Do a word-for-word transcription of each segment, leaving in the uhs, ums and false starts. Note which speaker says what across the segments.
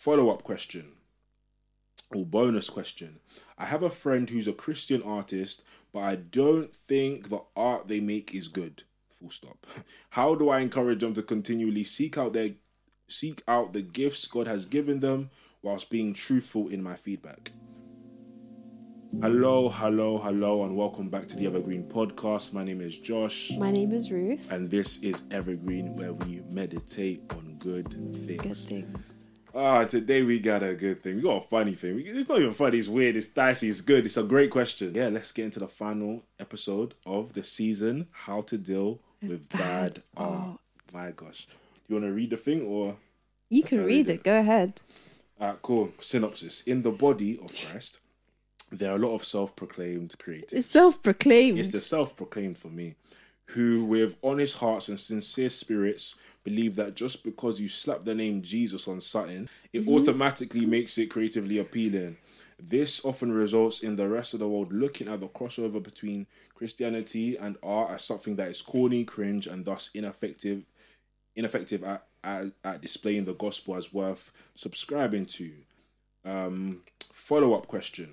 Speaker 1: follow-up question or bonus question. I have a friend who's a Christian artist, but I don't think the art they make is good. Full stop. How do I encourage them to continually seek out their seek out the gifts God has given them whilst being truthful in my feedback? Hello, hello, hello, and welcome back to the Evergreen Podcast. My name is Josh.
Speaker 2: My name is Ruth.
Speaker 1: And this is Evergreen, where we meditate on good things.
Speaker 2: Good things.
Speaker 1: Ah, today we got a good thing. We got a funny thing. It's not even funny, it's weird, it's dicey, it's good. It's a great question. Yeah, let's get into the final episode of the season, How to Deal with Bad, bad Art. Oh. My gosh. Do you want to read the thing or?
Speaker 2: You can read, read it. it, go ahead.
Speaker 1: Alright, cool. Synopsis. In the body of Christ, there are a lot of self-proclaimed creatives.
Speaker 2: It's self-proclaimed.
Speaker 1: It's the self-proclaimed for me, who with honest hearts and sincere spirits believe that just because you slap the name Jesus on something, it mm-hmm. automatically makes it creatively appealing. This often results in the rest of the world looking at the crossover between Christianity and art as something that is corny, cringe, and thus ineffective, ineffective at, at, at displaying the gospel as worth subscribing to. Um, follow-up question.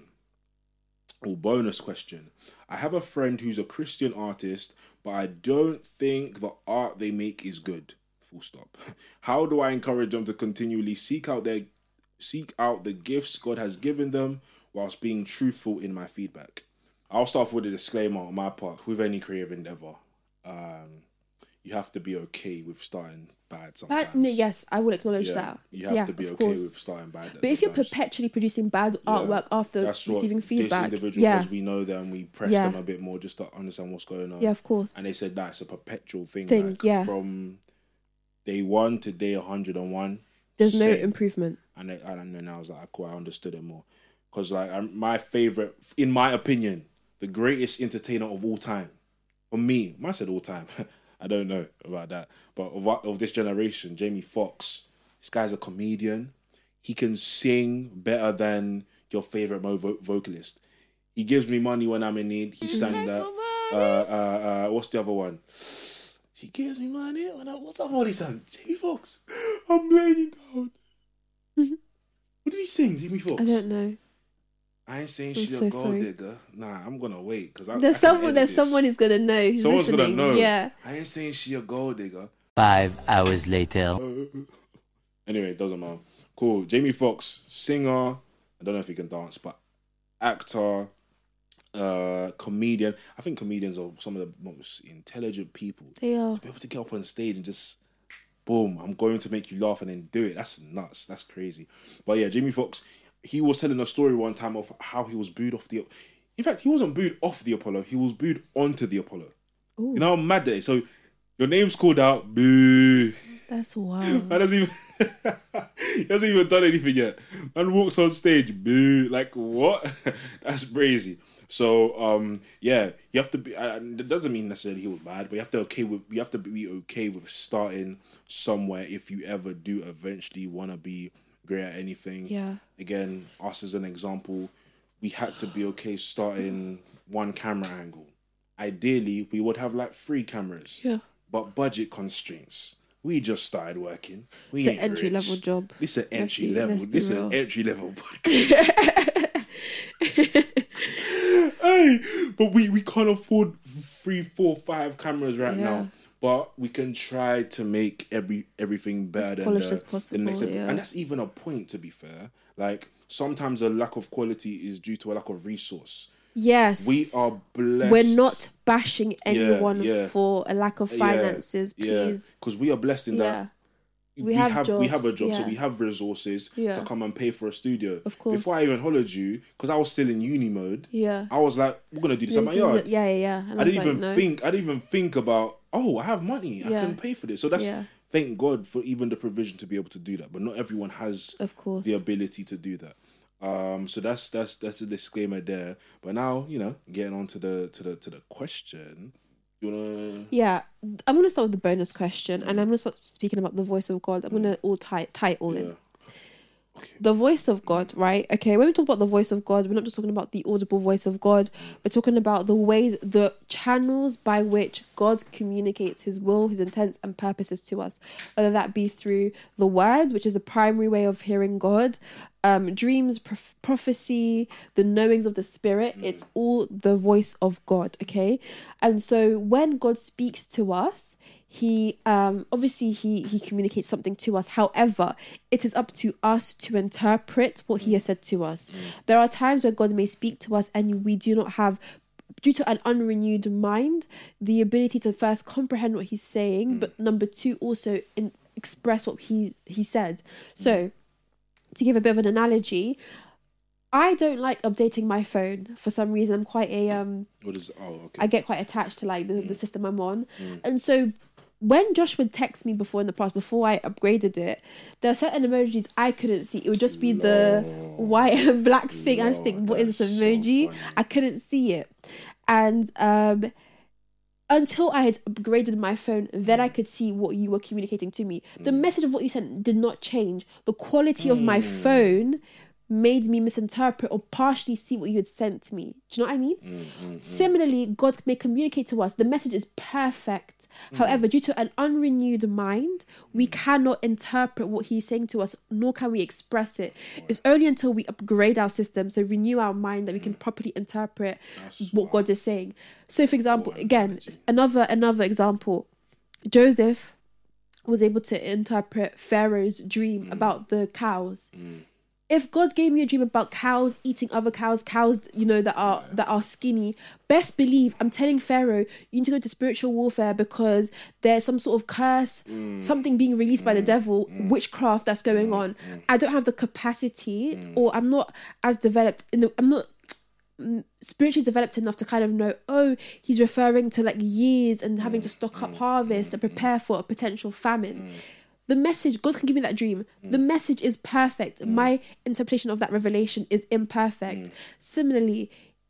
Speaker 1: Or bonus question. I have a friend who's a Christian artist, but I don't think the art they make is good. Full stop. How do I encourage them to continually seek out their seek out the gifts God has given them whilst being truthful in my feedback? I'll start off with a disclaimer on my part. With any creative endeavor, um, you have to be okay with starting bad sometimes.
Speaker 2: Bad, yes, I will acknowledge
Speaker 1: yeah,
Speaker 2: that.
Speaker 1: You have
Speaker 2: yeah,
Speaker 1: to be okay
Speaker 2: course.
Speaker 1: with starting bad.
Speaker 2: But if you're perpetually producing bad
Speaker 1: yeah,
Speaker 2: artwork after receiving feedback,
Speaker 1: this individual,
Speaker 2: yeah.
Speaker 1: because we know them, we press
Speaker 2: yeah.
Speaker 1: them a bit more just to understand what's going on.
Speaker 2: Yeah, of course.
Speaker 1: And they said that's a perpetual thing.
Speaker 2: thing
Speaker 1: like,
Speaker 2: yeah.
Speaker 1: From day one to day one hundred and one.
Speaker 2: There's
Speaker 1: same.
Speaker 2: no improvement.
Speaker 1: And, they, and then I was like, cool, I understood it more. Because like I, my favourite, in my opinion, the greatest entertainer of all time, for me, I said all time, I don't know about that, but of, of this generation, Jamie Foxx, this guy's a comedian. He can sing better than your favourite mo- vo- vocalist. He gives me money when I'm in need. He sang that. Uh, uh, uh, what's the other one? She gives me money when I... What's that one he sang? Jamie Foxx. I'm laying you down.
Speaker 2: Mm-hmm.
Speaker 1: What did he sing, Jamie Foxx?
Speaker 2: I don't know.
Speaker 1: I ain't saying
Speaker 2: I'm
Speaker 1: she's
Speaker 2: so
Speaker 1: a gold
Speaker 2: sorry.
Speaker 1: digger. Nah, I'm gonna wait because
Speaker 2: there's
Speaker 1: I
Speaker 2: someone. There's
Speaker 1: this.
Speaker 2: someone who's gonna know. Who's
Speaker 1: Someone's
Speaker 2: listening.
Speaker 1: gonna know.
Speaker 2: Yeah.
Speaker 1: I ain't saying she a gold digger.
Speaker 3: Five hours later.
Speaker 1: Anyway, it doesn't matter. Cool. Jamie Foxx, singer. I don't know if he can dance, but actor, uh, comedian. I think comedians are some of the most intelligent people.
Speaker 2: They are.
Speaker 1: To be able to get up on stage and just, boom, I'm going to make you laugh and then do it. That's nuts. That's crazy. But yeah, Jamie Foxx. He was telling a story one time of how he was booed off the... In fact, he wasn't booed off the Apollo. He was booed onto the Apollo. Ooh. You know how mad that is? So, your name's called out. Boo.
Speaker 2: That's wild.
Speaker 1: Man hasn't even... he hasn't even done anything yet. Man walks on stage. Boo. Like, what? That's crazy. So, um, yeah, you have to be... Uh, it doesn't mean necessarily he was bad, but you have to okay with... You have to be okay with starting somewhere if you ever do eventually want to be... great at anything.
Speaker 2: Yeah.
Speaker 1: Again, us as an example, we had to be okay starting one camera angle. Ideally, we would have like three cameras.
Speaker 2: Yeah.
Speaker 1: But budget constraints. We just started working. We
Speaker 2: it's
Speaker 1: ain't
Speaker 2: an entry
Speaker 1: rich.
Speaker 2: level job.
Speaker 1: This is an entry
Speaker 2: be,
Speaker 1: level. This is an entry level podcast. Hey, but we, we can't afford three, four, five cameras right yeah. now. But we can try to make every everything better
Speaker 2: as
Speaker 1: than the,
Speaker 2: as possible,
Speaker 1: the next episode.
Speaker 2: Yeah.
Speaker 1: And that's even a point, to be fair. Like, sometimes a lack of quality is due to a lack of resource.
Speaker 2: Yes.
Speaker 1: We are blessed.
Speaker 2: We're not bashing anyone
Speaker 1: yeah, yeah.
Speaker 2: for a lack of finances,
Speaker 1: yeah,
Speaker 2: please.
Speaker 1: Because yeah. we are blessed in
Speaker 2: yeah.
Speaker 1: that.
Speaker 2: We,
Speaker 1: we
Speaker 2: have,
Speaker 1: have
Speaker 2: jobs,
Speaker 1: we have a job,
Speaker 2: yeah.
Speaker 1: so we have resources
Speaker 2: yeah.
Speaker 1: to come and pay for a studio.
Speaker 2: Of course.
Speaker 1: Before I even hollered you, because I was still in uni mode,
Speaker 2: yeah.
Speaker 1: I was like, we're gonna do this at my yard.
Speaker 2: Yeah, yeah, yeah. And
Speaker 1: I, I didn't
Speaker 2: like,
Speaker 1: even
Speaker 2: no.
Speaker 1: think. I didn't even think about. Oh, I have money.
Speaker 2: Yeah.
Speaker 1: I can pay for this. So that's
Speaker 2: yeah.
Speaker 1: thank God for even the provision to be able to do that. But not everyone has,
Speaker 2: of course,
Speaker 1: the ability to do that. Um, so that's that's that's a disclaimer there. But now, you know, getting on to the to the to the question. You wanna...
Speaker 2: Yeah, I'm gonna start with the bonus question, and I'm gonna start speaking about the voice of God. I'm gonna all tie tie it all
Speaker 1: yeah.
Speaker 2: in. The voice of God, right? Okay, when we talk about the voice of God, we're not just talking about the audible voice of God. We're talking about the ways, the channels by which God communicates his will, his intents and purposes to us. Whether that be through the word, which is the primary way of hearing God, um, dreams, prof- prophecy, the knowings of the spirit. Mm. It's all the voice of God, okay? And so when God speaks to us, he um obviously he he communicates something to us. However, it is up to us to interpret what he has said to us. Mm. There are times where God may speak to us and we do not have, due to an unrenewed mind, the ability to first comprehend what he's saying, mm. but number two, also in, express what he's he said. So to give a bit of an analogy, I don't like updating my phone for some reason. I'm quite a um
Speaker 1: what is oh okay
Speaker 2: I get quite attached to like the, mm. the system I'm on.
Speaker 1: Mm.
Speaker 2: And so when Josh would text me before in the past, before I upgraded it, there are certain emojis I couldn't see. It would just be Lord. the white and black thing. Lord, I just think, what is this emoji? So I couldn't see it. And um, until I had upgraded my phone, then I could see what you were communicating to me. Mm. The message of what you sent did not change. The quality mm. of my phone made me misinterpret or partially see what you had sent to me. Do you know what I mean?
Speaker 1: Mm, mm,
Speaker 2: Similarly, God may communicate to us. The message is perfect. Mm. However, due to an unrenewed mind, we mm. cannot interpret what he's saying to us, nor can we express it. Wow. It's only until we upgrade our system, so renew our mind, that we can properly interpret That's what wow. God is saying. So, for example, oh, again, another another example, Joseph was able to interpret Pharaoh's dream mm. about the cows.
Speaker 1: Mm.
Speaker 2: If God gave me a dream about cows eating other cows, cows, you know, that are that are skinny, best believe I'm telling Pharaoh, you need to go to spiritual warfare because there's some sort of curse, mm. something being released mm. by the devil, mm. witchcraft that's going mm. on. Mm. I don't have the capacity, mm. or I'm not as developed in the. I'm not spiritually developed enough to kind of know, oh, he's referring to like years and having mm. to stock up mm. harvest mm. and prepare for a potential famine. Mm. The message, God can give me that dream. Mm. The message is perfect. Mm. My interpretation of that revelation is imperfect. Mm. Similarly,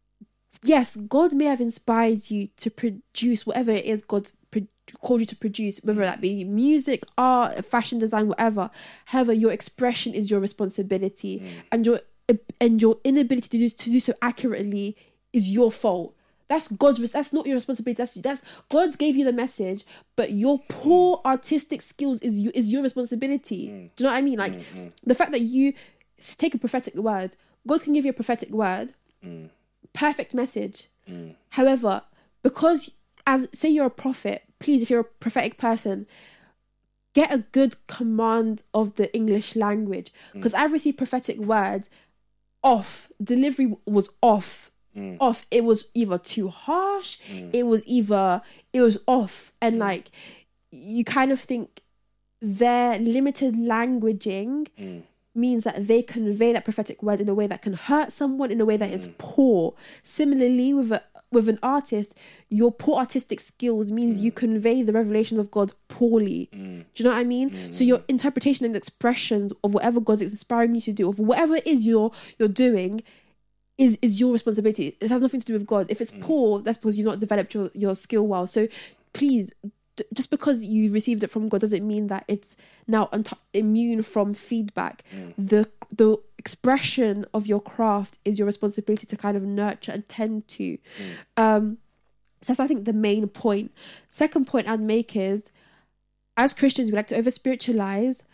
Speaker 2: yes, God may have inspired you to produce whatever it is God's pro- called you to produce, whether that be music, art, fashion design, whatever. However, your expression is your responsibility, mm. and your and your inability to do to do so accurately is your fault. That's God's. That's not your responsibility. That's that's God gave you the message, but your poor mm. artistic skills is you is your responsibility. Mm. Do you know what I mean? Like mm-hmm. the fact that you take a prophetic word, God can give you a prophetic word,
Speaker 1: mm.
Speaker 2: perfect message.
Speaker 1: Mm.
Speaker 2: However, because as say you're a prophet, please, if you're a prophetic person, get a good command of the English language, because mm. I've received prophetic words off delivery was off. Mm. off it was either too harsh mm. it was either it was off and mm. like you kind of think their limited languaging
Speaker 1: mm.
Speaker 2: means that they convey that prophetic word in a way that can hurt someone, in a way that
Speaker 1: mm.
Speaker 2: is poor. Similarly, with a with an artist, your poor artistic skills means mm. you convey the revelations of God poorly.
Speaker 1: Mm.
Speaker 2: Do you know what I mean?
Speaker 1: Mm.
Speaker 2: So your interpretation and expressions of whatever God is inspiring you to do, of whatever it is you're you're doing, is is your responsibility. It has nothing to do with God. If it's mm. poor, that's because you've not developed your, your skill well. So please, d- just because you received it from God doesn't mean that it's now unt- immune from feedback.
Speaker 1: Mm.
Speaker 2: The the expression of your craft is your responsibility to kind of nurture and tend to.
Speaker 1: Mm.
Speaker 2: Um, so that's, I think, the main point. Second point I'd make is, as Christians, we like to over-spiritualize.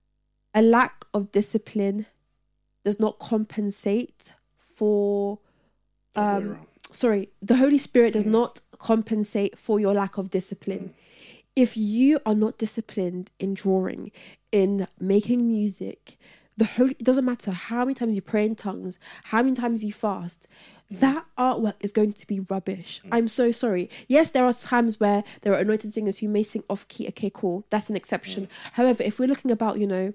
Speaker 2: A lack of discipline does not compensate for um sorry the Holy Spirit does mm. not compensate for your lack of discipline. Mm. If you are not disciplined in drawing, in making music, the Holy, it doesn't matter how many times you pray in tongues, how many times you fast, mm. that artwork is going to be rubbish. Mm. I'm so sorry. Yes, there are times where there are anointed singers who may sing off key. Okay, cool, that's an exception. Mm. However, if we're looking about, you know,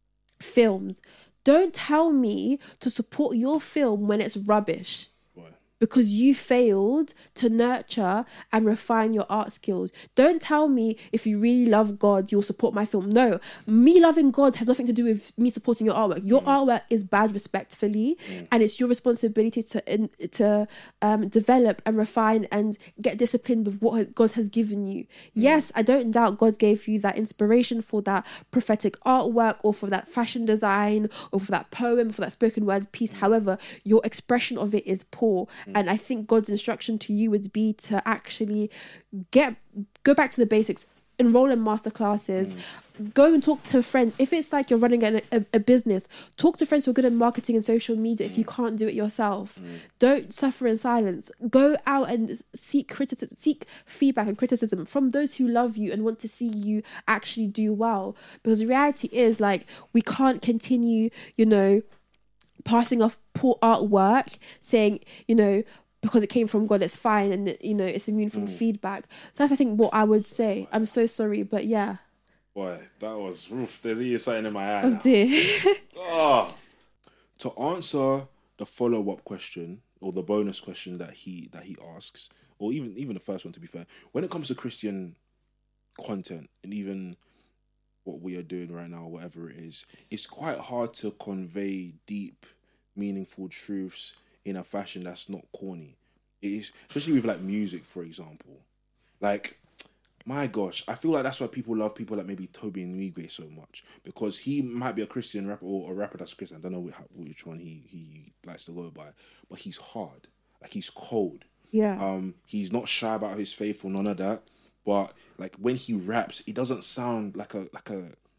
Speaker 2: films, don't tell me to support your film when it's rubbish.
Speaker 1: What?
Speaker 2: because you failed to nurture and refine your art skills. Don't tell me if you really love God, you'll support my film. No, me loving God has nothing to do with me supporting your artwork. Your mm. artwork is bad respectfully, mm. and it's your responsibility to in, to um, develop and refine and get disciplined with what God has given you. Mm. Yes, I don't doubt God gave you that inspiration for that prophetic artwork or for that fashion design or for that poem, for that spoken word piece. Mm. However, your expression of it is poor. Mm. And I think God's instruction to you would be to actually get go back to the basics, enroll in masterclasses, mm. go and talk to friends. If it's like you're running a, a, a business, talk to friends who are good at marketing and social media if you can't do it yourself. Mm. Don't suffer in silence. Go out and seek criticism, seek feedback and criticism from those who love you and want to see you actually do well. Because the reality is, like, we can't continue, you know, passing off poor artwork, saying, you know, because it came from God, it's fine, and you know, it's immune from mm. feedback. So that's, I think, what I would say. I'm so sorry, but yeah.
Speaker 1: Boy, that was oof, there's even something in my eye.
Speaker 2: Oh dear.
Speaker 1: Oh. To answer the follow-up question or the bonus question that he that he asks, or even even the first one, to be fair, when it comes to Christian content and even what we are doing right now, whatever it is, it's quite hard to convey deep, meaningful truths in a fashion that's not corny. It is, especially with like music, for example. Like, my gosh, I feel like that's why people love people like maybe Toby and Migwe so much, because he might be a Christian rapper or a rapper that's Christian. I don't know which one he, he likes to go by, but he's hard. Like, he's cold.
Speaker 2: Yeah.
Speaker 1: Um, he's not shy about his faith or none of that. But like when he raps, it doesn't sound like a like a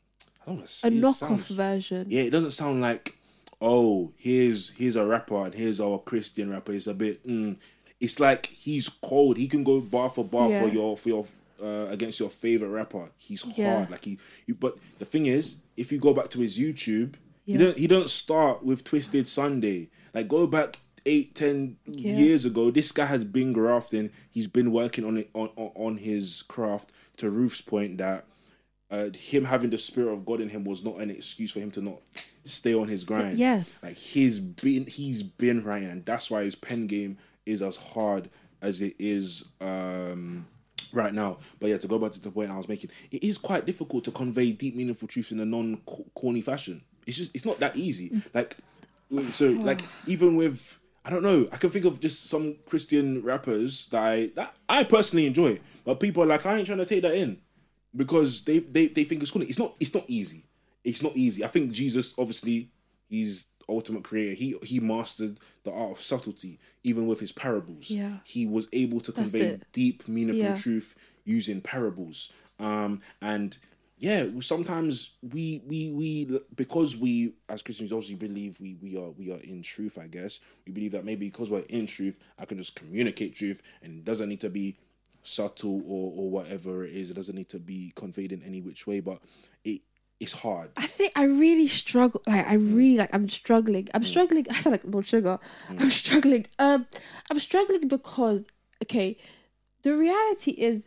Speaker 1: I don't want to say
Speaker 2: a knockoff
Speaker 1: sounds,
Speaker 2: version.
Speaker 1: Yeah, it doesn't sound like, oh, here's here's a rapper and here's our Christian rapper. It's a bit. Mm. It's like he's cold. He can go bar for bar yeah. for your for your uh, against your favorite rapper. He's hard. Yeah. Like he. You, but the thing is, if you go back to his YouTube, yeah. he don't he don't start with Twisted Sunday. Like, go back eight, ten yeah. years ago, this guy has been grafting. He's been working on it on, on, on his craft, to Ruth's point that uh, him having the spirit of God in him was not an excuse for him to not stay on his grind.
Speaker 2: Yes.
Speaker 1: Like, he's been he's been writing, and that's why his pen game is as hard as it is um, right now. But yeah, to go back to the point I was making, it is quite difficult to convey deep, meaningful truths in a non-corny fashion. It's just, it's not that easy. Like, so, like, even with, I don't know, I can think of just some Christian rappers that I that I personally enjoy, but people are like, I ain't trying to take that in because they, they, they think it's cool. It's not it's not easy. It's not easy. I think Jesus, obviously, he's ultimate creator. He he mastered the art of subtlety, even with his parables.
Speaker 2: Yeah.
Speaker 1: He was able to
Speaker 2: That's
Speaker 1: convey
Speaker 2: it.
Speaker 1: deep, meaningful
Speaker 2: Yeah.
Speaker 1: truth using parables. Um and yeah, sometimes we we we because we as Christians obviously believe we we are we are in truth. I guess we believe that maybe because we're in truth, I can just communicate truth, and it doesn't need to be subtle or or whatever it is. It doesn't need to be conveyed in any which way. But it it's hard.
Speaker 2: I think I really struggle. Like I really like. I'm struggling. I'm mm. struggling. I sound like Lord Sugar. Mm. I'm struggling. Um, I'm struggling because okay, the reality is,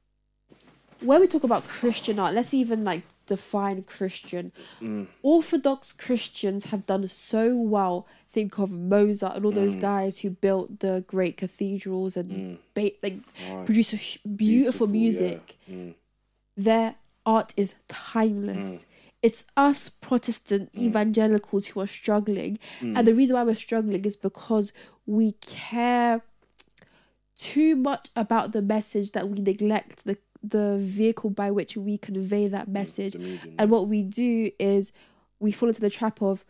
Speaker 2: when we talk about Christian art, let's even like define Christian. Mm. Orthodox Christians have done so well. Think of Mozart and all those mm. guys who built the great cathedrals and mm. ba- like oh, produce a beautiful, beautiful music. Yeah. Mm. Their art is timeless. Mm. It's us Protestant mm. evangelicals who are struggling, mm. and the reason why we're struggling is because we care too much about the message that we neglect the the vehicle by which we convey that message. Medium, and what we do is we fall into the trap of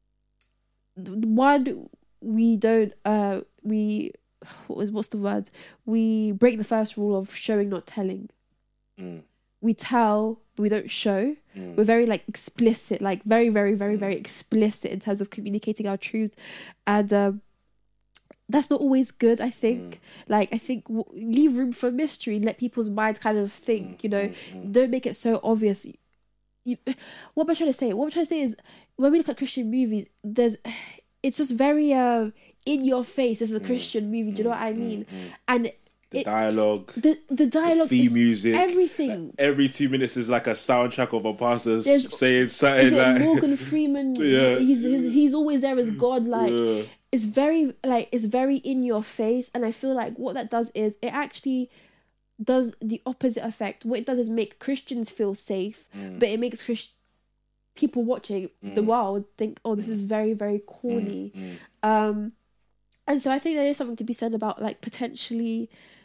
Speaker 2: one, we don't uh we what was what's the word we break the first rule of showing, not telling. mm. We tell, but we don't show. mm. We're very like explicit, like very very very very explicit in terms of communicating our truths, and um that's not always good, I think. Mm. Like, I think w- leave room for mystery, let people's minds kind of think, mm, you know, mm, mm. don't make it so obvious. You, what am I trying to say? What I'm trying to say is, when we look at Christian movies, there's, it's just very uh, in your face. This is a mm, Christian movie, do you know what I mean?
Speaker 1: Mm, mm.
Speaker 2: And
Speaker 1: the
Speaker 2: it,
Speaker 1: dialogue,
Speaker 2: the the dialogue,
Speaker 1: the theme music,
Speaker 2: everything.
Speaker 1: Like, every two minutes is like a soundtrack of a pastor
Speaker 2: There's,
Speaker 1: saying something
Speaker 2: is it
Speaker 1: like
Speaker 2: Morgan Freeman.
Speaker 1: yeah.
Speaker 2: he's, he's he's always there as God. Like,
Speaker 1: yeah.
Speaker 2: it's very like it's very in your face, and I feel like what that does is it actually does the opposite effect. What it does is make Christians feel safe, mm. but it makes Christ- people watching mm. the world think, oh, this is very, very corny. Mm. Mm. Um, and so I think there is something to be said about like potentially,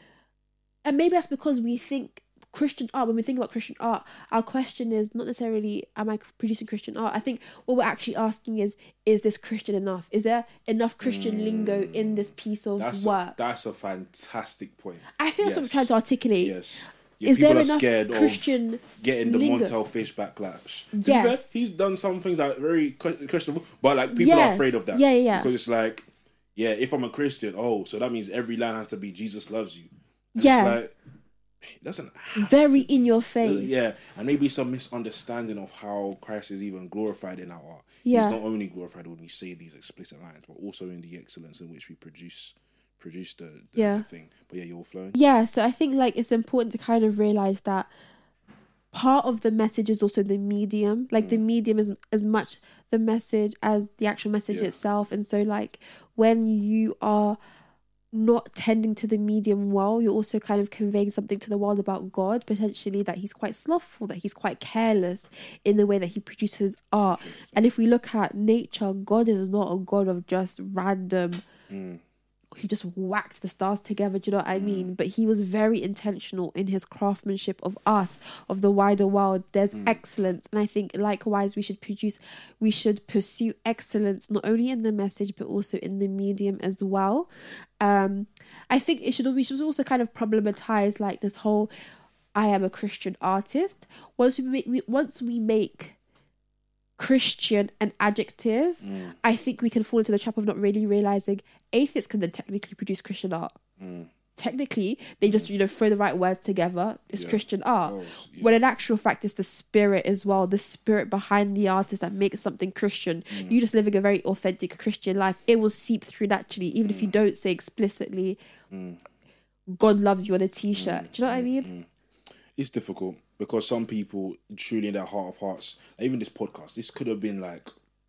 Speaker 2: and maybe that's because we think Christian art, when we think about Christian art, our question is not necessarily, am I producing Christian art? I think what we're actually asking is, is this Christian enough? Is there enough Christian mm. lingo in this piece of
Speaker 1: that's
Speaker 2: work?
Speaker 1: A, that's a fantastic point.
Speaker 2: I think
Speaker 1: yes.
Speaker 2: that's what I'm trying to articulate.
Speaker 1: Yes. Yeah,
Speaker 2: is
Speaker 1: people
Speaker 2: there
Speaker 1: are
Speaker 2: enough
Speaker 1: scared
Speaker 2: Christian
Speaker 1: of getting the
Speaker 2: lingo?
Speaker 1: Montel Fish backlash. To
Speaker 2: yes.
Speaker 1: be fair, he's done some things that are very questionable, but like people
Speaker 2: yes.
Speaker 1: are afraid of that.
Speaker 2: Yeah, yeah.
Speaker 1: Because it's like, yeah, if I'm a Christian, oh, so that means every line has to be Jesus loves you. And
Speaker 2: yeah.
Speaker 1: It's like, it doesn't have
Speaker 2: very
Speaker 1: to
Speaker 2: in
Speaker 1: be.
Speaker 2: your face.
Speaker 1: Yeah, and maybe some misunderstanding of how Christ is even glorified in our art.
Speaker 2: Yeah.
Speaker 1: He's not only glorified when we say these explicit lines, but also in the excellence in which we produce produce the, the
Speaker 2: yeah.
Speaker 1: thing. But yeah, you're flowing.
Speaker 2: Yeah, so I think like it's important to kind of realize that part of the message is also the medium. Like mm. the medium is as much the message as the actual message yeah. itself. And so like when you are not tending to the medium well, you're also kind of conveying something to the world about God, potentially that he's quite slothful, that he's quite careless in the way that he produces art. And if we look at nature, God is not a God of just random mm. he just whacked the stars together, do you know what I mean? But he was very intentional in his craftsmanship of us, of the wider world. There's mm. excellence, and I think likewise we should produce we should pursue excellence not only in the message but also in the medium as well. um I think it should we should also kind of problematize like this whole I am a Christian artist. Once we make, we, once we make Christian an adjective, mm. I think we can fall into the trap of not really realizing atheists can then technically produce Christian art. Mm. Technically, they just, you know, throw the right words together. It's yeah. Christian art. Oh, yeah. When in actual fact, it's the spirit as well, the spirit behind the artist that makes something Christian. Mm. You just living a very authentic Christian life. It will seep through naturally, even mm. if you don't say explicitly, mm. God loves you on a t-shirt. Mm. Do you know what I mean? Mm.
Speaker 1: It's difficult because some people truly in their heart of hearts, even this podcast, this could have been like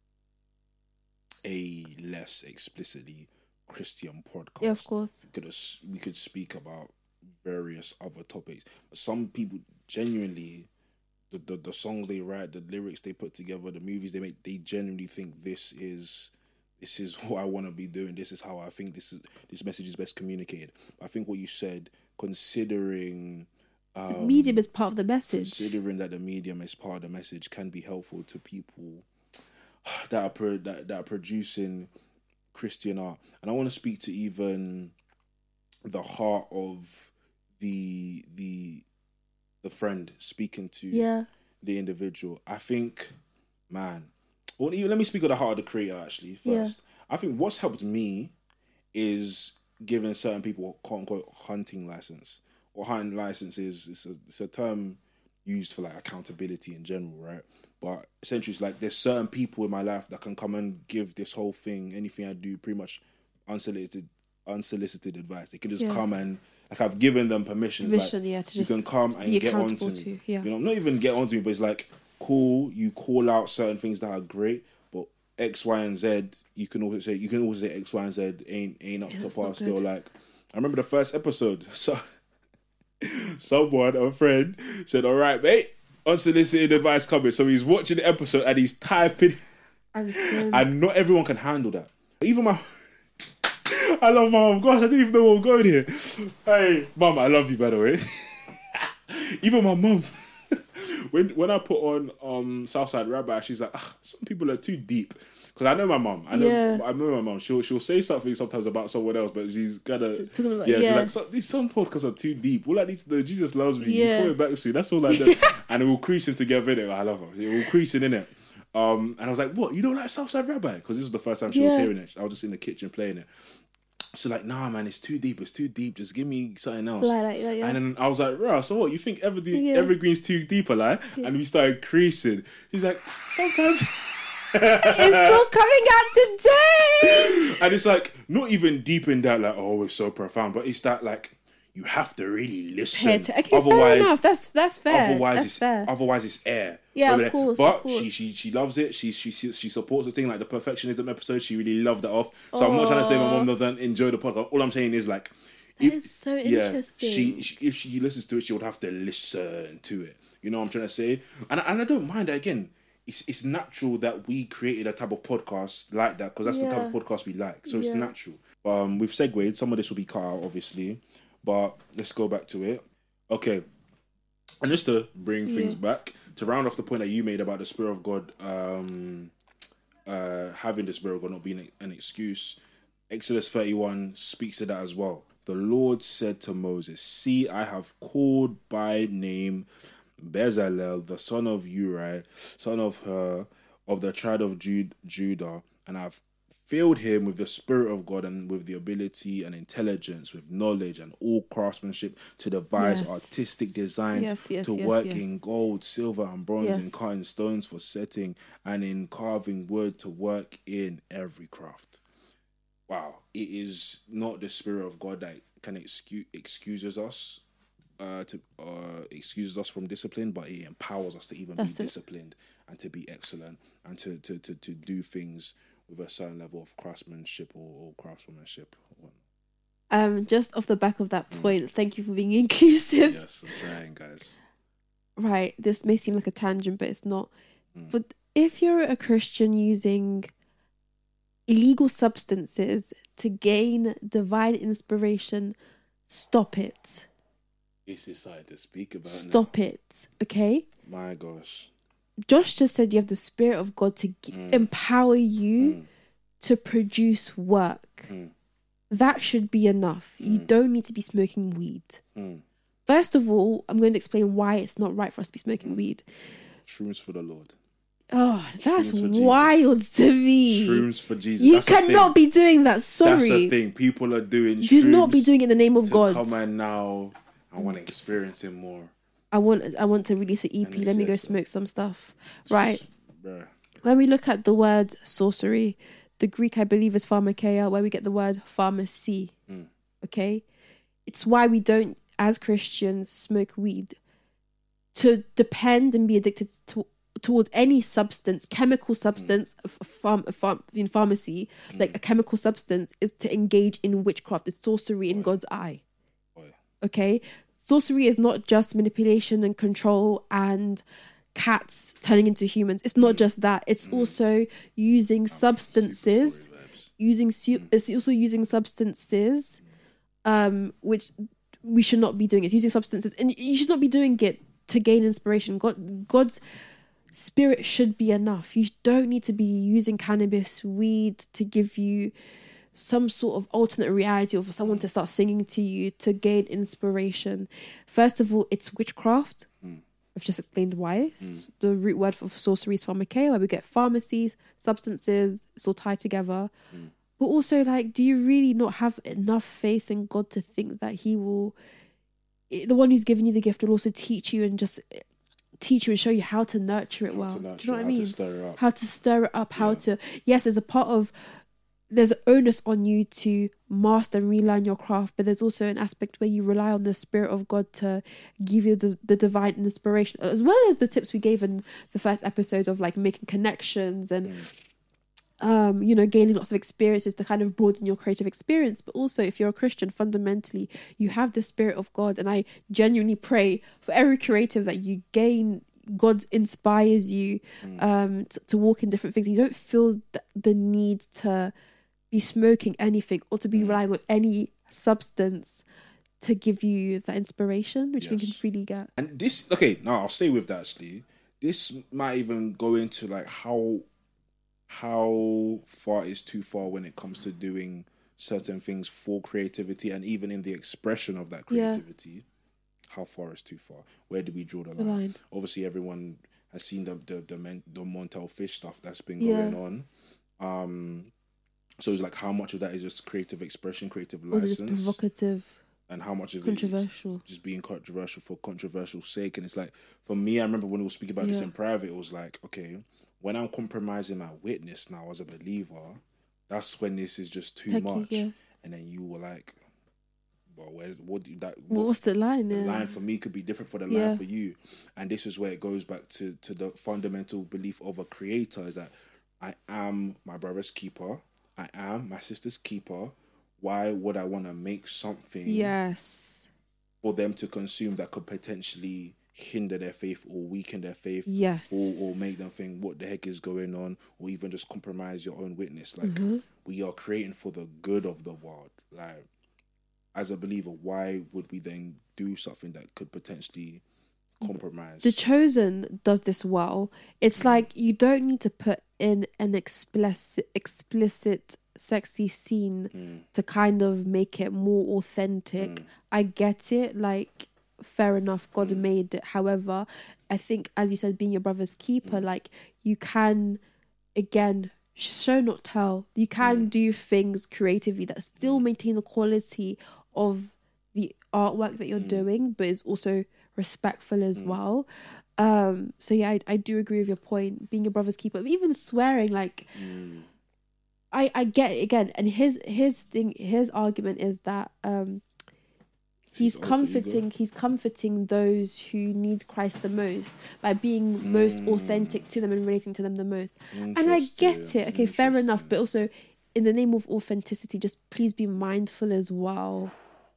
Speaker 1: a less explicitly Christian podcast.
Speaker 2: Yeah, of course.
Speaker 1: We could, have, we could speak about various other topics. But some people genuinely, the, the, the songs they write, the lyrics they put together, the movies they make, they genuinely think this is this is what I want to be doing. This is how I think this is this message is best communicated. I think what you said, considering
Speaker 2: Um, the medium is part of the message.
Speaker 1: Considering that the medium is part of the message can be helpful to people that are pro- that, that are producing Christian art. And I want to speak to even the heart of the the the friend speaking to
Speaker 2: yeah.
Speaker 1: the individual. I think, man, well, even let me speak of the heart of the creator actually first. Yeah. I think what's helped me is giving certain people a quote unquote hunting license. Or hunting license is it's a, it's a term used for like accountability in general, right? But essentially it's like there's certain people in my life that can come and give this whole thing, anything I do, pretty much unsolicited unsolicited advice. They can just yeah. come and like I've given them permission.
Speaker 2: Permission,
Speaker 1: like,
Speaker 2: yeah, to
Speaker 1: you
Speaker 2: just
Speaker 1: can come and
Speaker 2: be
Speaker 1: get onto
Speaker 2: to,
Speaker 1: me.
Speaker 2: Yeah.
Speaker 1: You know, not even get onto me, but it's like cool, you call out certain things that are great, but X, Y, and Z, you can also say you can also say X, Y, and Z ain't ain't up
Speaker 2: yeah,
Speaker 1: to par still. Like I remember the first episode, so someone, a friend, said, all right, mate, unsolicited advice coming. So he's watching the episode and he's typing. And not everyone can handle that. Even my... I love my mum. Gosh, I didn't even know what was going here. Hey, mum, I love you, by the way. Even my mum. when when I put on um, Southside Rabbi, she's like, ah, some people are too deep. Because I know my mum. I know
Speaker 2: yeah.
Speaker 1: I know my mum. She'll she'll say something sometimes about someone else, but she's kind of
Speaker 2: about,
Speaker 1: yeah,
Speaker 2: yeah.
Speaker 1: She's like, so, these some podcasts are too deep. All I need to know, Jesus loves me. Yeah. He's coming back soon. That's all I know. And it will creasing together in it. I love her. It will creasing in it. Um, and I was like, what? You don't like Southside Rabbi? Because this was the first time she yeah. was hearing it. I was just in the kitchen playing it. She's like, nah, man, it's too deep. It's too deep. Just give me something else.
Speaker 2: Like, like, like, yeah.
Speaker 1: And then I was like, right, so what? You think Evergreen, yeah. Evergreen's too deep, like? Yeah. And we started creasing. He's like, sometimes.
Speaker 2: It's still coming out today.
Speaker 1: And it's like, not even deep in that, like, oh, it's so profound. But it's that, like, you have to really listen.
Speaker 2: Pay atten- okay, fair enough. That's that's fair.
Speaker 1: Otherwise,
Speaker 2: that's
Speaker 1: it's
Speaker 2: fair.
Speaker 1: otherwise it's air.
Speaker 2: Yeah,
Speaker 1: Over
Speaker 2: of
Speaker 1: there.
Speaker 2: course,
Speaker 1: But
Speaker 2: of course.
Speaker 1: she she she loves it. She she she she supports the thing, like the perfectionism episode. She really loved that off. So I'm not trying to say my mom doesn't enjoy the podcast. All I'm saying is like,
Speaker 2: That is so interesting.
Speaker 1: She, she if she listens to it, she would have to listen to it. You know what I'm trying to say? And and I don't mind that again. It's it's natural that we created a type of podcast like that because that's the type
Speaker 2: Yeah.
Speaker 1: of podcast we like. So it's
Speaker 2: Yeah.
Speaker 1: natural. Um, we've segued. Some of this will be cut out, obviously, but let's go back to it. Okay, and just to bring things
Speaker 2: Yeah.
Speaker 1: back to round off the point that you made about the Spirit of God, um, uh, having the Spirit of God not being an excuse. Exodus thirty-one speaks to that as well. The Lord said to Moses, "See, I have called by name Bezalel, the son of Uri, son of Hur, of the tribe of Jude, Judah, and I've filled him with the Spirit of God and with the ability and intelligence, with knowledge and all craftsmanship to devise
Speaker 2: Yes.
Speaker 1: artistic designs,
Speaker 2: Yes, yes,
Speaker 1: to
Speaker 2: yes,
Speaker 1: work
Speaker 2: yes.
Speaker 1: in gold, silver, and bronze,
Speaker 2: Yes.
Speaker 1: in cutting stones for setting, and in carving wood, to work in every craft." Wow, it is not the Spirit of God that can excuse excuses us uh to uh excuses us from discipline, but it empowers us to even
Speaker 2: That's
Speaker 1: be
Speaker 2: it.
Speaker 1: disciplined and to be excellent and to to, to, to do things with a certain level of craftsmanship or, or craftsmanship or whatnot.
Speaker 2: Um, just off the back of that point, thank you for being inclusive.
Speaker 1: Yes, I'm trying, guys.
Speaker 2: Right, this may seem like a tangent, but it's not.
Speaker 1: Mm.
Speaker 2: But if you're a Christian using illegal substances to gain divine inspiration, stop it.
Speaker 1: This is something to speak about
Speaker 2: Stop it. Okay?
Speaker 1: now. My gosh.
Speaker 2: Josh just said you have the Spirit of God to g-
Speaker 1: Mm.
Speaker 2: empower you
Speaker 1: Mm.
Speaker 2: to produce work.
Speaker 1: Mm.
Speaker 2: That should be enough. You
Speaker 1: Mm.
Speaker 2: don't need to be smoking weed.
Speaker 1: Mm.
Speaker 2: First of all, I'm going to explain why it's not right for us to be smoking
Speaker 1: Mm.
Speaker 2: weed.
Speaker 1: Shrooms for the Lord.
Speaker 2: Oh, that's
Speaker 1: Shrooms for Jesus.
Speaker 2: wild to me.
Speaker 1: Shrooms for Jesus.
Speaker 2: You
Speaker 1: That's the
Speaker 2: cannot
Speaker 1: thing.
Speaker 2: be doing that.
Speaker 1: That's
Speaker 2: Sorry.
Speaker 1: the thing. People are doing
Speaker 2: Do not be
Speaker 1: shrooms
Speaker 2: doing it in the name of
Speaker 1: to
Speaker 2: God.
Speaker 1: come and now I want to experience it more.
Speaker 2: I want I want to release an E
Speaker 1: And
Speaker 2: P.
Speaker 1: it
Speaker 2: Let me go
Speaker 1: says so.
Speaker 2: smoke some stuff. Right.
Speaker 1: Bruh.
Speaker 2: When we look at the word sorcery, the Greek I believe is pharmakeia, where we get the word pharmacy.
Speaker 1: Mm.
Speaker 2: Okay? It's why we don't, as Christians, smoke weed. To depend and be addicted to towards any substance, chemical substance, a pharm, a pharm, in pharmacy, like a chemical substance, is to engage in witchcraft. It's sorcery in God's eye.
Speaker 1: Boy.
Speaker 2: Okay? Sorcery is not just manipulation and control and cats turning into humans. It's not just that. It's also using substances,
Speaker 1: Super story vibes.
Speaker 2: using su- it's also using substances, um, which we should not be doing. It's using substances, and you should not be doing it to gain inspiration. God, God's spirit should be enough. You don't need to be using cannabis, weed to give you some sort of alternate reality or for someone to start singing to you to gain inspiration. First of all, it's witchcraft.
Speaker 1: Mm.
Speaker 2: I've just explained why. S- The root word for sorcery is pharmakeia, where we get pharmacies, substances, it's all tied together.
Speaker 1: Mm.
Speaker 2: But also, like, do you really not have enough faith in God to think that He will, the one who's given you the gift, will also teach you and just teach you and show you how to nurture it
Speaker 1: How
Speaker 2: well?
Speaker 1: to
Speaker 2: Do
Speaker 1: nurture
Speaker 2: you know what
Speaker 1: it,
Speaker 2: I
Speaker 1: how to
Speaker 2: mean?
Speaker 1: stir it up.
Speaker 2: How to stir it up, how
Speaker 1: Yeah.
Speaker 2: to, yes, there's a part of, there's an onus on you to master and relearn your craft, but there's also an aspect where you rely on the Spirit of God to give you the, the divine inspiration, as well as the tips we gave in the first episode of like making connections and um you know, gaining lots of experiences to kind of broaden your creative experience. But also, if you're a Christian, fundamentally you have the Spirit of God, and I genuinely pray for every creative that you gain, God inspires you um to, to walk in different things. You don't feel th- the need to be smoking anything or to be relying on any substance to give you that inspiration, which you can
Speaker 1: Yes.
Speaker 2: freely get.
Speaker 1: And this, okay, now I'll stay with that actually. This might even go into like how how far is too far when it comes to doing certain ththings for creativity and even in the expression of that
Speaker 2: Yeah.
Speaker 1: creativity. How far is too far? Where do we draw the
Speaker 2: The
Speaker 1: line?
Speaker 2: line.
Speaker 1: Obviously, everyone has seen the the the, men, the Montel fish stuff that's been
Speaker 2: Yeah.
Speaker 1: going on. Um, so it's like how much of that is just creative expression, creative
Speaker 2: Or is it just
Speaker 1: license,
Speaker 2: provocative,
Speaker 1: and how much of it
Speaker 2: controversial?
Speaker 1: is just being controversial for controversial sake. And it's like, for me, I remember when we were speaking about this
Speaker 2: Yeah.
Speaker 1: in private, it was like, okay, when I'm compromising my witness now as a believer, that's when this is just too
Speaker 2: Techie,
Speaker 1: much.
Speaker 2: yeah.
Speaker 1: And then you were like, well, where's what do you, that?
Speaker 2: Well, what's the line?
Speaker 1: The
Speaker 2: Yeah.
Speaker 1: line for me could be different for the
Speaker 2: Yeah.
Speaker 1: line for you, and this is where it goes back to to the fundamental belief of a creator: is that I am my brother's keeper, I am my sister's keeper. Why would I want to make something
Speaker 2: Yes.
Speaker 1: for them to consume that could potentially hinder their faith or weaken their faith?
Speaker 2: Yes.
Speaker 1: Or, or make them think what the heck is going on, or even just compromise your own witness. Like,
Speaker 2: Mm-hmm.
Speaker 1: we are creating for the good of the world. Like, as a believer, why would we then do something that could potentially compromise?
Speaker 2: The Chosen does this well. It's like you don't need to put in an explicit, explicit, sexy scene
Speaker 1: Mm.
Speaker 2: to kind of make it more authentic.
Speaker 1: Mm.
Speaker 2: I get it. Like, fair enough. God made it. However, I think, as you said, being your brother's keeper, like you can, again, show not tell. You can do things creatively that still maintain the quality of the artwork that you're doing, but is also respectful as well. Um, so yeah, I, I do agree with your point. Being your brother's keeper, but even swearing, like I I get it again. And his his thing, his argument is that um, he's
Speaker 1: His alter
Speaker 2: comforting he's comforting those who need Christ the most by being most authentic to them and relating to them the most. And I get
Speaker 1: Interesting,
Speaker 2: it. Okay, fair enough.
Speaker 1: interesting.
Speaker 2: But also, in the name of authenticity, just please be mindful as well.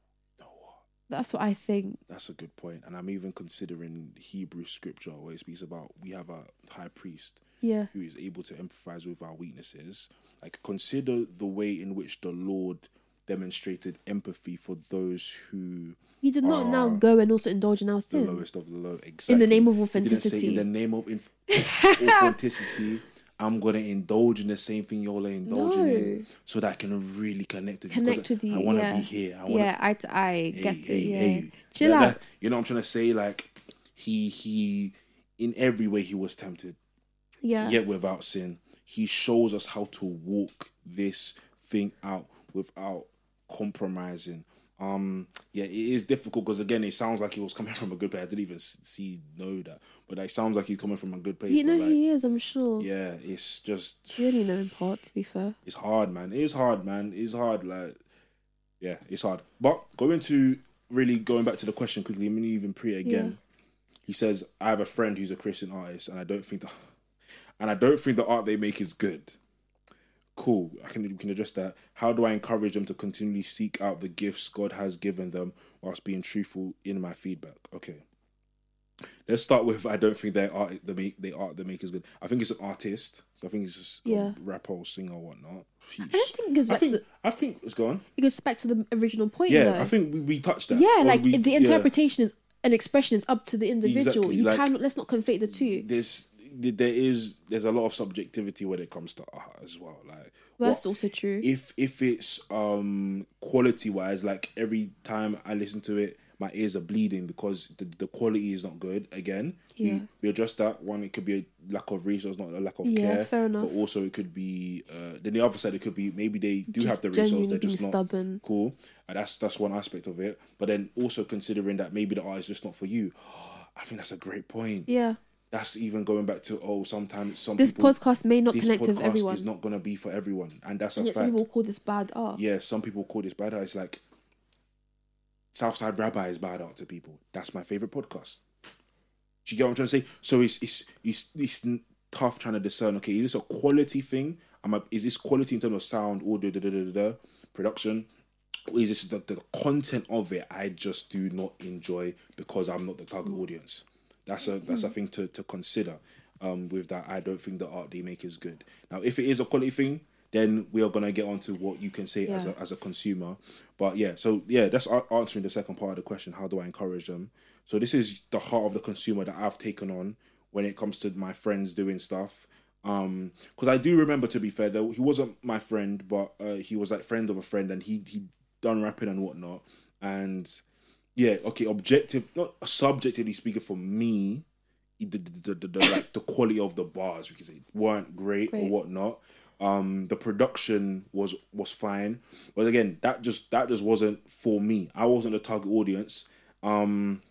Speaker 2: That's what I think.
Speaker 1: That's a good point. And I'm even considering Hebrew scripture where it speaks about we have a high priest
Speaker 2: Yeah.
Speaker 1: who is able to empathize with our weaknesses. Like, consider the way in which the Lord demonstrated empathy for those who
Speaker 2: He did not now
Speaker 1: are
Speaker 2: go and also indulge in our
Speaker 1: the
Speaker 2: sin.
Speaker 1: lowest of the low. Exactly.
Speaker 2: In the name of
Speaker 1: He didn't say,
Speaker 2: authenticity.
Speaker 1: in the name of inf- authenticity, I'm gonna indulge in the same thing you're indulging
Speaker 2: No.
Speaker 1: in, so that I can really connect with you.
Speaker 2: Connect
Speaker 1: 'cause
Speaker 2: with you.
Speaker 1: I want to
Speaker 2: yeah.
Speaker 1: be here. I wanna,
Speaker 2: yeah, I, I get
Speaker 1: hey,
Speaker 2: it.
Speaker 1: hey,
Speaker 2: yeah.
Speaker 1: hey.
Speaker 2: Chill
Speaker 1: That-
Speaker 2: out.
Speaker 1: that- you know what I'm trying to say? Like, he he in every way he was tempted,
Speaker 2: Yeah.
Speaker 1: yet without sin. He shows us how to walk this thing out without compromising. Um, yeah, it is difficult because again, it sounds like he was coming from a good place. I didn't even see know that, but it sounds like he's coming from a good place.
Speaker 2: You know
Speaker 1: but like,
Speaker 2: he is, I'm sure.
Speaker 1: yeah, it's just
Speaker 2: We only know in part, to be fair.
Speaker 1: it's hard, man. It is hard, man. It's hard. Like, yeah, it's hard. But going to really going back to the question quickly, I'm gonna even pre it again. He says, "I have a friend who's a Christian artist, and I don't think the, and I don't think the art they make is good." Cool. I can we can address that. How do I encourage them to continually seek out the gifts God has given them whilst being truthful in my feedback? Okay. Let's start with I don't think their art the make they art the make is good. I think it's an artist. So I think it's just
Speaker 2: Yeah.
Speaker 1: a rapper or singer or whatnot.
Speaker 2: I don't think it goes
Speaker 1: I
Speaker 2: back
Speaker 1: think
Speaker 2: to the
Speaker 1: I think it's gone.
Speaker 2: it goes back to the original point
Speaker 1: Yeah,
Speaker 2: though.
Speaker 1: I think we, we touched that.
Speaker 2: yeah,
Speaker 1: Or
Speaker 2: like
Speaker 1: we-
Speaker 2: the
Speaker 1: yeah.
Speaker 2: interpretation is an expression is up to the individual.
Speaker 1: Exactly,
Speaker 2: You
Speaker 1: like-
Speaker 2: cannot let's not conflate the two.
Speaker 1: There's there is there's a lot of subjectivity when it comes to art as well. Like
Speaker 2: Well, that's
Speaker 1: what-
Speaker 2: also true.
Speaker 1: if if it's um quality wise, like every time I listen to it, my ears are bleeding because the, the quality is not good. Again,
Speaker 2: Yeah.
Speaker 1: we, we address that. One, it could be a lack of resource, not a lack of
Speaker 2: Yeah,
Speaker 1: care.
Speaker 2: fair enough.
Speaker 1: But also, it could be uh, then the other side. It could be maybe they do
Speaker 2: Just
Speaker 1: have the resource,
Speaker 2: genuinely
Speaker 1: they're just
Speaker 2: being
Speaker 1: not
Speaker 2: stubborn.
Speaker 1: cool. And that's that's one aspect of it. But then also considering that maybe the art is just not for you. I think that's a great point.
Speaker 2: Yeah.
Speaker 1: That's even going back to oh, sometimes some
Speaker 2: This
Speaker 1: people,
Speaker 2: podcast may not
Speaker 1: this
Speaker 2: connect with
Speaker 1: podcast
Speaker 2: everyone.
Speaker 1: is not gonna be for everyone, and that's a
Speaker 2: And yet some
Speaker 1: fact.
Speaker 2: people call this bad art.
Speaker 1: Yeah, some people call this bad art. It's like Southside Rabbi is bad art to people. That's my favorite podcast. Do you get what I'm trying to say? So it's it's it's, it's tough trying to discern. Okay, is this a quality thing? Am I, is this quality in terms of sound, audio, da, da, da, da, da, production? Or is this the, the content of it I just do not enjoy because I'm not the target audience? That's a that's a thing to, to consider. Um, with that, I don't think the art they make is good. Now, if it is a quality thing, then we are gonna get onto what you can say as
Speaker 2: Yeah.
Speaker 1: a as a consumer. But yeah, so yeah, that's a- answering the second part of the question. How do I encourage them? So this is the heart of the consumer that I've taken on when it comes to my friends doing stuff. Um, because I do remember, to be fair, though, he wasn't my friend, but uh, he was like friend of a friend, and he he done rapping and whatnot. And yeah, okay, objective, not subjectively speaking, for me, the, the, the, the like the quality of the bars, we can say, weren't great,
Speaker 2: Great.
Speaker 1: or whatnot. Um, the production was was fine, but again, that just that just wasn't for me. I wasn't the target audience. Um,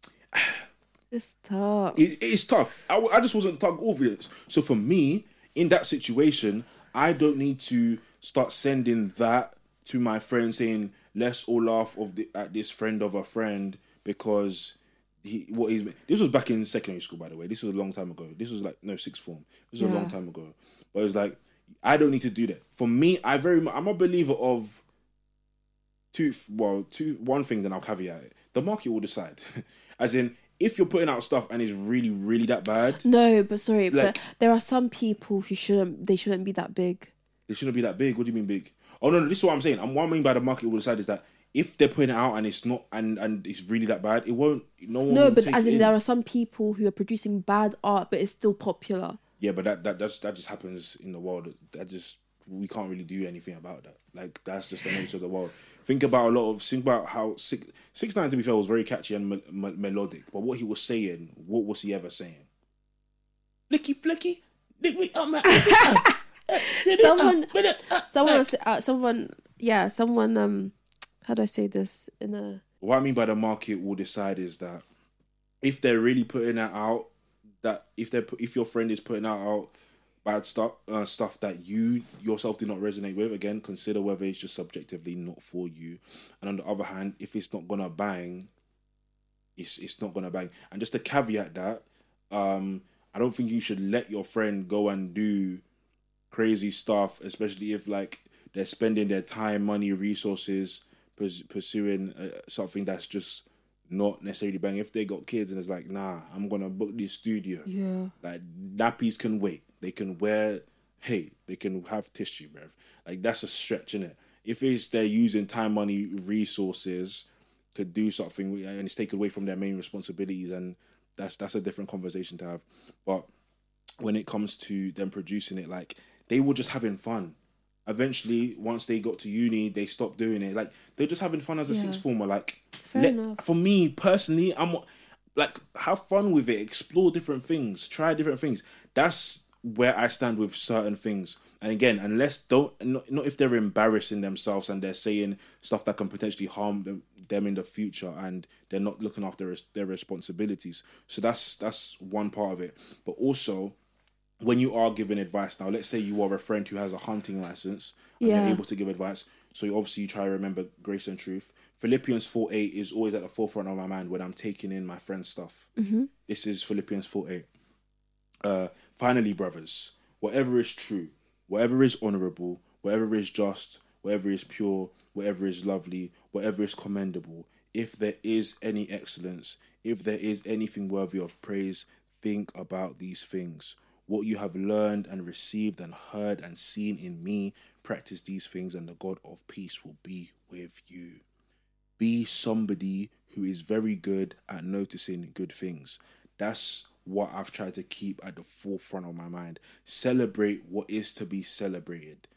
Speaker 2: It's tough.
Speaker 1: it, it's tough. I, I just wasn't the target audience. So for me, in that situation, I don't need to start sending that to my friends saying, let's all laugh of the, at this friend of a friend because he what he's this was back in secondary school, by the way. This was a long time ago. This was like no sixth form. This was
Speaker 2: Yeah.
Speaker 1: a long time ago. But it was like I don't need to do that. For me, I very mu- I'm a believer of two well two one thing. Then I'll caveat it. The market will decide, as in. If you're putting out stuff and it's really, really that bad,
Speaker 2: No, but sorry,
Speaker 1: Like-
Speaker 2: but there are some people who shouldn't. They shouldn't be that big.
Speaker 1: it shouldn't be that big. What do you mean big? Oh no, no, this is what I'm saying. And what I mean by the market will decide is that if they're putting it out and it's not and, and it's really that bad, it won't. No one.
Speaker 2: No,
Speaker 1: will
Speaker 2: but
Speaker 1: take
Speaker 2: as
Speaker 1: it
Speaker 2: in there are some people who are producing bad art, but it's still popular.
Speaker 1: Yeah, but that that that's, that just happens in the world. That just we can't really do anything about that. Like that's just the nature of the world. Think about a lot of think about how six six nine to be fair was very catchy and me, me, melodic. But what he was saying, what was he ever saying? Flicky flicky, lick me up, man.
Speaker 2: Someone, someone, uh, someone, yeah, someone. Um, how do I say this in a?
Speaker 1: What I mean by the market will decide is that if they're really putting that out, that if they if your friend is putting that out bad stuff, uh, stuff that you yourself do not resonate with, again, consider whether it's just subjectively not for you. And on the other hand, if it's not gonna bang, it's it's not gonna bang. And just to caveat that, um, I don't think you should let your friend go and do crazy stuff, especially if like they're spending their time, money, resources pers- pursuing uh, something that's just not necessarily bang. If they got kids and it's like, nah, I'm gonna book this studio.
Speaker 2: Yeah.
Speaker 1: Like nappies can wait. They can wear. Hey, they can have tissue, bruv. Like that's a stretch, innit? If it's they're using time, money, resources to do something and it's taken away from their main responsibilities, and that's that's a different conversation to have. But when it comes to them producing it, like they were just having fun. Eventually, once they got to uni, they stopped doing it. Like they're just having fun as a
Speaker 2: Yeah.
Speaker 1: sixth former. Like
Speaker 2: Fair
Speaker 1: let-
Speaker 2: enough.
Speaker 1: for me personally, I'm like have fun with it, explore different things, try different things. That's where I stand with certain things. And again, unless don't not, not if they're embarrassing themselves and they're saying stuff that can potentially harm them, them in the future, and they're not looking after their, their responsibilities. So that's that's one part of it. But also, when you are giving advice, now let's say you are a friend who has a hunting license and
Speaker 2: Yeah.
Speaker 1: they're able to give advice. So you obviously you try to remember grace and truth. Philippians four eight is always at the forefront of my mind when I'm taking in my friend's stuff.
Speaker 2: Mm-hmm.
Speaker 1: This is Philippians four eight. Uh, finally, brothers, whatever is true, whatever is honorable, whatever is just, whatever is pure, whatever is lovely, whatever is commendable, if there is any excellence, if there is anything worthy of praise, think about these things. What you have learned and received and heard and seen in me, practice these things, and the God of peace will be with you. Be somebody who is very good at noticing good things. That's what I've tried to keep at the forefront of my mind. Celebrate what is to be celebrated.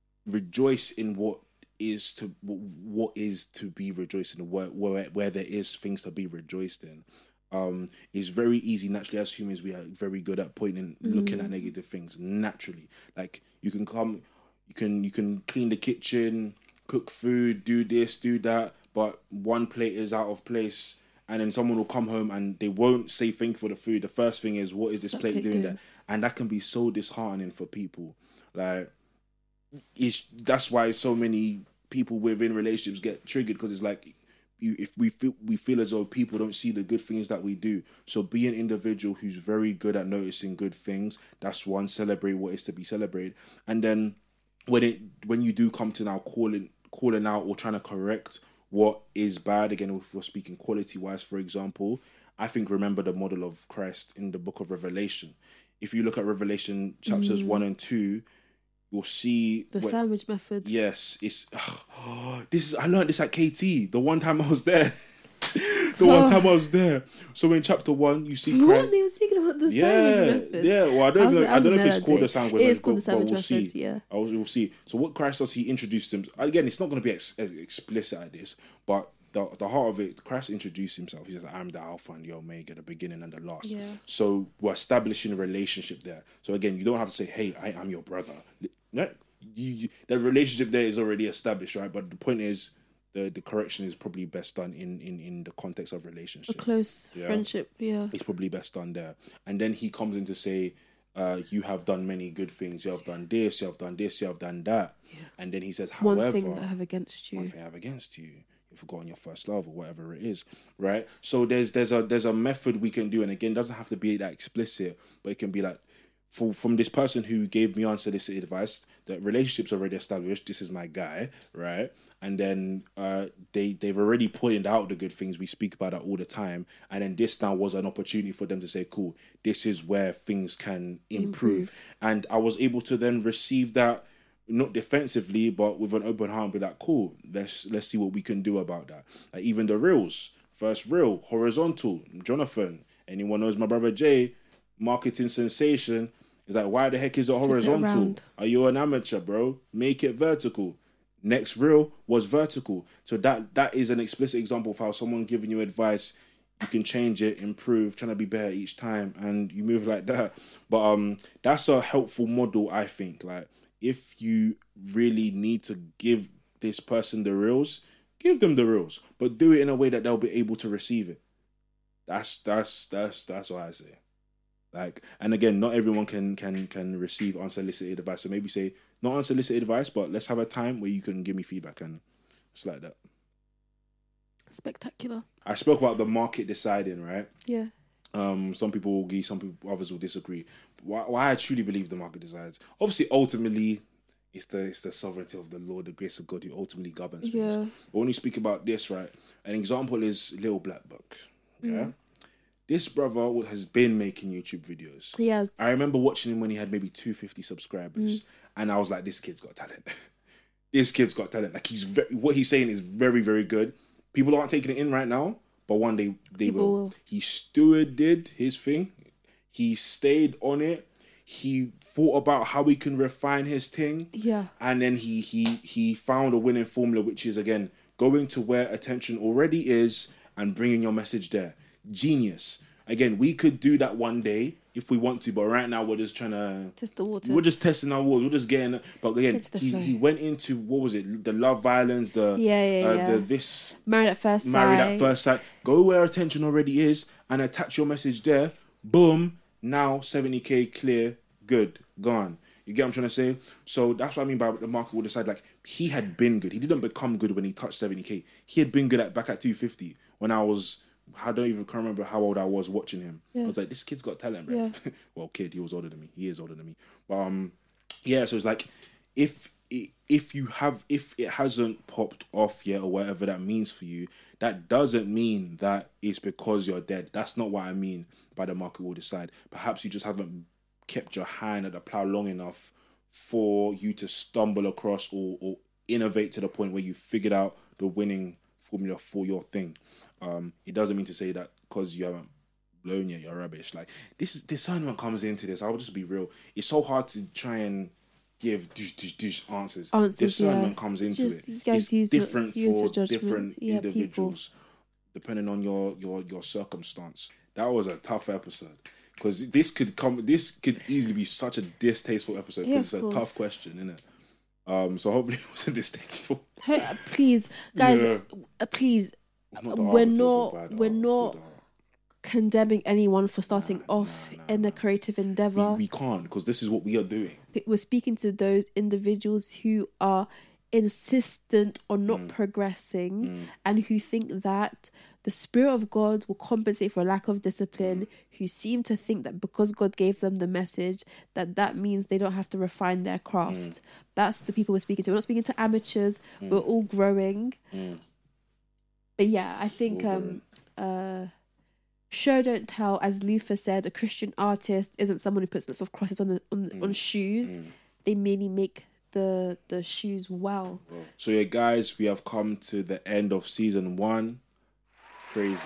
Speaker 1: Rejoice in what is to what is to be rejoiced in, where, where, where there is things to be rejoiced in. Um, it's very easy naturally as humans. We are very good at pointing, looking at negative things naturally. Like you can come, you can you can clean the kitchen, cook food, do this, do that, but one plate is out of place, and then someone will come home and they won't say thank you for the food. The first thing is, what is this
Speaker 2: That
Speaker 1: plate
Speaker 2: plate
Speaker 1: doing
Speaker 2: doing?
Speaker 1: there? And that can be so disheartening for people. Like, it's that's why so many people within relationships get triggered, because it's like, you, if we feel we feel as though people don't see the good things that we do. So be an individual who's very good at noticing good things. That's one. Celebrate what is to be celebrated. And then when it when you do come to now calling calling out or trying to correct what is bad, again, if we're speaking quality wise, for example, I think remember the model of Christ in the book of Revelation. If you look at Revelation chapters one and two, you'll see
Speaker 2: The
Speaker 1: when-
Speaker 2: sandwich method.
Speaker 1: Yes, it's this is I learned this at K T the one time I was there. the one time I was there. So in chapter one, you see
Speaker 2: What?
Speaker 1: Christ.
Speaker 2: They were speaking about the
Speaker 1: Yeah,
Speaker 2: sandwich method.
Speaker 1: yeah. Well, I don't
Speaker 2: I was-
Speaker 1: know.
Speaker 2: I
Speaker 1: I,
Speaker 2: was
Speaker 1: don't know
Speaker 2: there
Speaker 1: if it's
Speaker 2: that
Speaker 1: called
Speaker 2: day.
Speaker 1: the sandwich
Speaker 2: It is
Speaker 1: method,
Speaker 2: called the
Speaker 1: but
Speaker 2: sandwich
Speaker 1: we'll see.
Speaker 2: method, yeah.
Speaker 1: I will, we'll see. So what Christ does, he introduced him. Again, it's not going to be ex- as explicit at this, but the the heart of it, Christ introduced himself. He says, "I'm the Alpha and the Omega, the beginning and the last."
Speaker 2: Yeah.
Speaker 1: So we're establishing a relationship there. So again, you don't have to say, "Hey, I am your brother." No, you, you, the relationship there is already established, right? But the point is, the the correction is probably best done in in in the context of
Speaker 2: A
Speaker 1: relationship.
Speaker 2: close
Speaker 1: Yeah.
Speaker 2: friendship, yeah.
Speaker 1: It's probably best done there. And then he comes in to say, uh, you have done many good things. You have done this, you have done this, you have done that. And then he says,
Speaker 2: One
Speaker 1: however,
Speaker 2: thing I have against you.
Speaker 1: one thing I have against you. You've forgotten your first love or whatever it is, right? So there's there's a there's a method we can do, and again, it doesn't have to be that explicit, but it can be like, for from this person who gave me unsolicited advice, the relationship's already established. This is my guy, right? And then uh, they they've already pointed out the good things. We speak about that all the time, and then this now was an opportunity for them to say, "Cool, this is where things can improve." improve. And I was able to then receive that. Not defensively, but with an open heart, be like, cool, let's let's see what we can do about that. Like even the reels, first reel, horizontal, Jonathan. Anyone knows my brother Jay, marketing sensation, is like, why the heck is it horizontal? It Are you an amateur, bro? Make it vertical. Next reel was vertical. So that that is an explicit example of how someone giving you advice, you can change it, improve, trying to be better each time, and you move like that. But um, that's a helpful model, I think. Like, if you really need to give this person the reels, give them the reels, but do it in a way that they'll be able to receive it. That's that's that's that's what I say. Like, and again, not everyone can can can receive unsolicited advice. So maybe say not unsolicited advice, but let's have a time where you can give me feedback, and it's like that.
Speaker 2: Spectacular.
Speaker 1: I spoke about the market deciding, right?
Speaker 2: Yeah.
Speaker 1: Um, some people will agree, some people, others will disagree. Why, why I truly believe the market decides. Obviously, ultimately, it's the it's the sovereignty of the Lord, the grace of God, who ultimately governs things.
Speaker 2: Yeah.
Speaker 1: But when you speak about this, right, an example is Little Black Book. Yeah, mm. This brother has been making YouTube videos.
Speaker 2: Yes.
Speaker 1: I remember watching him when he had maybe two hundred fifty subscribers, mm. and I was like, this kid's got talent. This kid's got talent. Like he's very, what he's saying is very, very good. People aren't taking it in right now. But one day they will. will. He stewarded his thing. He stayed on it. He thought about how he can refine his thing.
Speaker 2: Yeah.
Speaker 1: And then he he he found a winning formula, which is, again, going to where attention already is and bringing your message there. Genius. Again, we could do that one day if we want to, but right now we're just trying to
Speaker 2: test the water.
Speaker 1: We're just testing our waters. We're just getting. But again, he, he went into, what was it? The love violence. The
Speaker 2: yeah yeah
Speaker 1: uh,
Speaker 2: yeah.
Speaker 1: The this
Speaker 2: married at first sight.
Speaker 1: Married at first sight. Go where attention already is and attach your message there. Boom. Now seventy k clear. Good. Gone. You get what I'm trying to say? So that's what I mean by the market will decide. Like, he had been good. He didn't become good when he touched seventy k. He had been good at back at two fifty when I was. I don't even can't remember how old I was watching him. Yeah. I was like, this kid's got talent, bro.
Speaker 2: Yeah.
Speaker 1: Well, kid, he was older than me. He is older than me. But um, yeah. So it's like, if if you have if it hasn't popped off yet or whatever that means for you, that doesn't mean that it's because you're dead. That's not what I mean by the market will decide. Perhaps you just haven't kept your hand at the plow long enough for you to stumble across or, or innovate to the point where you figured out the winning formula for your thing. Um, it doesn't mean to say that because you haven't blown yet, you're rubbish. Like, this is discernment comes into this. I'll just be real. It's so hard to try and give dish, dish, dish answers.
Speaker 2: answers.
Speaker 1: Discernment
Speaker 2: yeah.
Speaker 1: comes into
Speaker 2: just,
Speaker 1: it.
Speaker 2: It's
Speaker 1: use different
Speaker 2: your, use
Speaker 1: for different
Speaker 2: yeah,
Speaker 1: individuals,
Speaker 2: people.
Speaker 1: Depending on your, your, your circumstance. That was a tough episode because this could come. This could easily be such a distasteful episode because yeah, it's a course. tough question, isn't it? Um, so hopefully it wasn't distasteful.
Speaker 2: Please, guys,
Speaker 1: yeah.
Speaker 2: uh, please. We're not we're not condemning anyone for starting nah, off nah, nah, in a creative endeavor.
Speaker 1: We, we can't, because this is what we are doing.
Speaker 2: We're speaking to those individuals who are insistent on not mm. progressing mm. and who think that the Spirit of God will compensate for a lack of discipline, mm. who seem to think that because God gave them the message, that that means they don't have to refine their craft. Mm. That's the people we're speaking to. We're not speaking to amateurs. Mm. We're all growing. Mm. But yeah, I think um, uh, show don't tell, as Luther said, a Christian artist isn't someone who puts lots of crosses on the, on, mm. on shoes. Mm. They merely make the the shoes well.
Speaker 1: So yeah, guys, we have come to the end of season one. Crazy,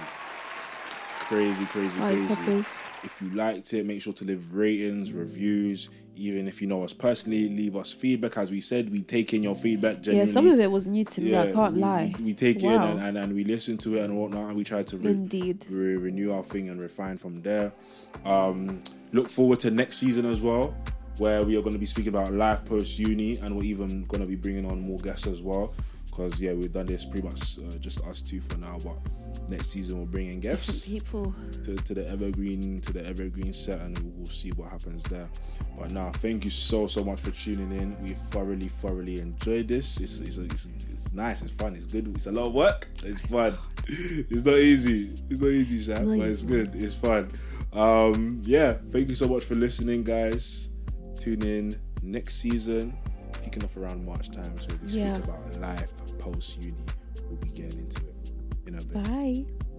Speaker 1: crazy, crazy,
Speaker 2: Right,
Speaker 1: crazy.
Speaker 2: Peppers.
Speaker 1: If you liked it, make sure to leave ratings, reviews. Even if you know us personally, leave us feedback. As we said, we take in your feedback genuinely.
Speaker 2: Yeah, some of it was new to me. Yeah, I can't
Speaker 1: we,
Speaker 2: lie.
Speaker 1: We, we take
Speaker 2: wow.
Speaker 1: it in and, and, and we listen to it and whatnot, and we try to re-
Speaker 2: Indeed.
Speaker 1: Re- renew our thing and refine from there. Um, look forward to next season as well. where we are going to be speaking about life post uni, and we're even going to be bringing on more guests as well. Because yeah, we've done this pretty much uh, just us two for now, but next season we'll bring in guests,
Speaker 2: different people
Speaker 1: to, to the evergreen to the evergreen set, and we'll see what happens there. But now, thank you so so much for tuning in. We thoroughly thoroughly enjoyed this. It's it's, it's it's nice. It's fun. It's good. It's a lot of work. It's fun. It's not easy. It's not easy, Shaq, but it's good. It's fun. Um, yeah, thank you so much for listening, guys. Tune in next season. Kicking off around March time, so we'll be
Speaker 2: yeah.
Speaker 1: speaking about life post uni. We'll be getting into it in a bit.
Speaker 2: Bye.